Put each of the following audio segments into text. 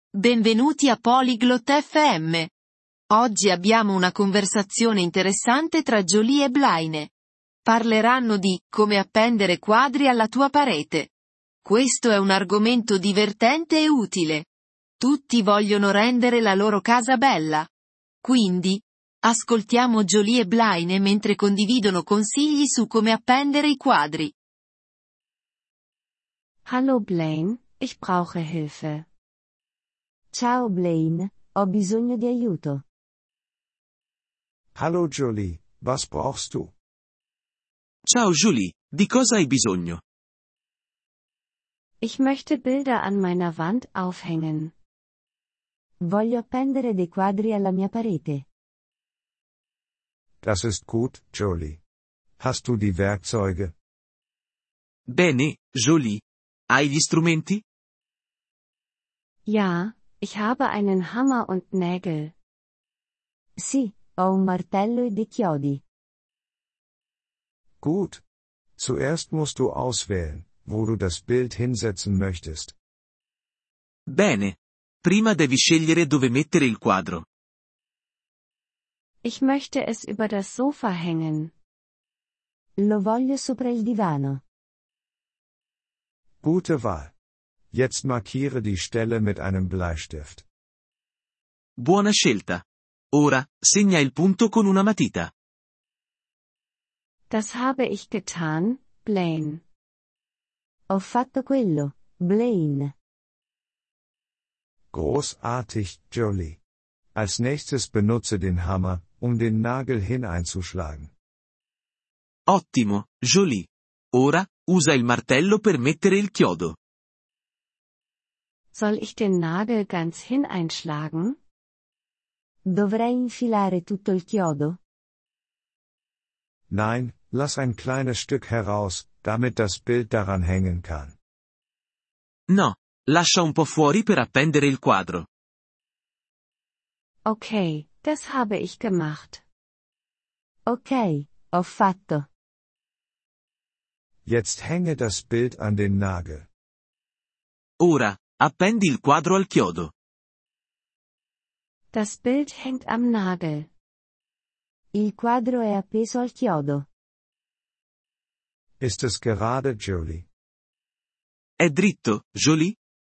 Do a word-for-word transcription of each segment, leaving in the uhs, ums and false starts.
Benvenuti a Polyglot F M. Oggi abbiamo una conversazione interessante tra Jolie e Blaine. Parleranno di come appendere quadri alla tua parete. Questo è un argomento divertente e utile. Tutti vogliono rendere la loro casa bella. Quindi, ascoltiamo Jolie e Blaine mentre condividono consigli su come appendere i quadri. Hallo Blaine, ich brauche Hilfe. Ciao Blaine, ho bisogno di aiuto. Hallo Jolie, was brauchst du? Ciao Julie, di cosa hai bisogno? Ich möchte Bilder an meiner Wand aufhängen. Voglio appendere dei quadri alla mia parete. Das ist gut, Jolie. Hast du die Werkzeuge? Bene, Jolie. Hai gli strumenti? Ja, ich habe einen Hammer und Nägel. Sì, ho un martello e dei chiodi. Gut. Zuerst musst du auswählen, wo du das Bild hinsetzen möchtest. Bene. Prima devi scegliere dove mettere il quadro. Ich möchte es über das Sofa hängen. Lo voglio sopra il divano. Gute Wahl. Jetzt markiere die Stelle mit einem Bleistift. Buona scelta. Ora, segna il punto con una matita. Das habe ich getan, Blaine. Ho fatto quello, Blaine. Großartig, Jolie. Als nächstes benutze den Hammer, um den Nagel hineinzuschlagen. Ottimo, Jolie. Ora, usa il martello per mettere il chiodo. Soll ich den Nagel ganz hineinschlagen? Dovrei infilare tutto il chiodo? Nein, lass ein kleines Stück heraus, damit das Bild daran hängen kann. No, lascia un po' fuori per appendere il quadro. Okay, das habe ich gemacht. Ok, ho fatto. Jetzt hänge das Bild an den Nagel. Ora, appendi il quadro al chiodo. Das Bild hängt am Nagel. Il quadro è appeso al chiodo. Ist es gerade, Jolie? È dritto, Jolie?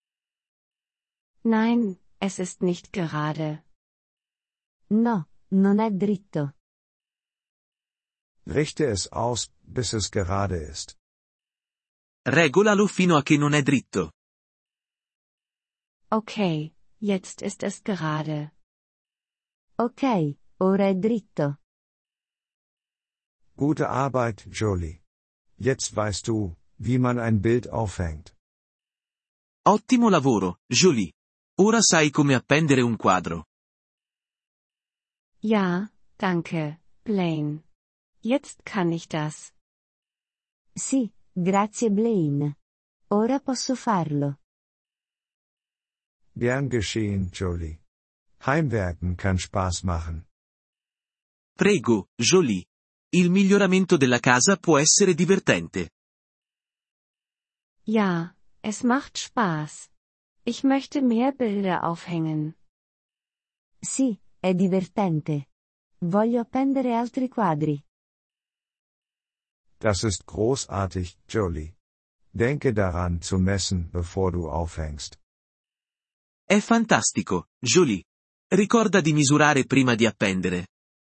Nein, es ist nicht gerade. No, non è dritto. Richte es aus, bis es gerade ist. Regolalo fino a che non è dritto. Okay, jetzt ist es gerade. Ok, ora è dritto. Gute Arbeit, Jolie. Jetzt weißt du, wie man ein Bild aufhängt. Ottimo lavoro, Jolie. Ora sai come appendere un quadro. Ja, danke, Blaine. Jetzt kann ich das. Sì, grazie Blaine. Ora posso farlo. Gern geschehen, Jolie. Heimwerken kann Spaß machen. Prego, Jolie. Il miglioramento della casa può essere divertente. Ja, es macht Spaß. Ich möchte mehr Bilder aufhängen. Sì, è divertente. Voglio appendere altri quadri. Das ist großartig, Jolie. Denke daran zu messen, bevor du aufhängst. È fantastico, Jolie. Ricorda di misurare prima di appendere.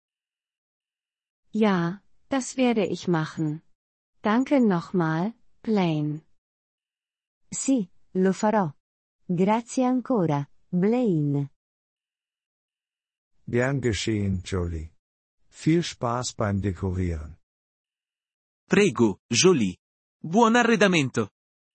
Ja, das werde ich machen. Danke nochmal, Blaine. Sì, lo farò. Grazie ancora, Blaine. Gern geschehen, Jolie. Viel Spaß beim Dekorieren. Prego, Jolie. Buon arredamento.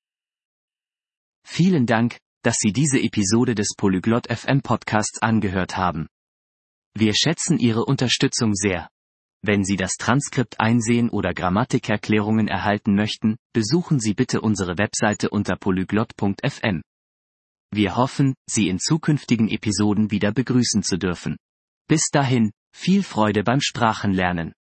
Vielen Dank, dass Sie diese Episode des Polyglot F M Podcasts angehört haben. Wir schätzen Ihre Unterstützung sehr. Wenn Sie das Transkript einsehen oder Grammatikerklärungen erhalten möchten, besuchen Sie bitte unsere Webseite unter polyglot punkt f m. Wir hoffen, Sie in zukünftigen Episoden wieder begrüßen zu dürfen. Bis dahin, viel Freude beim Sprachenlernen.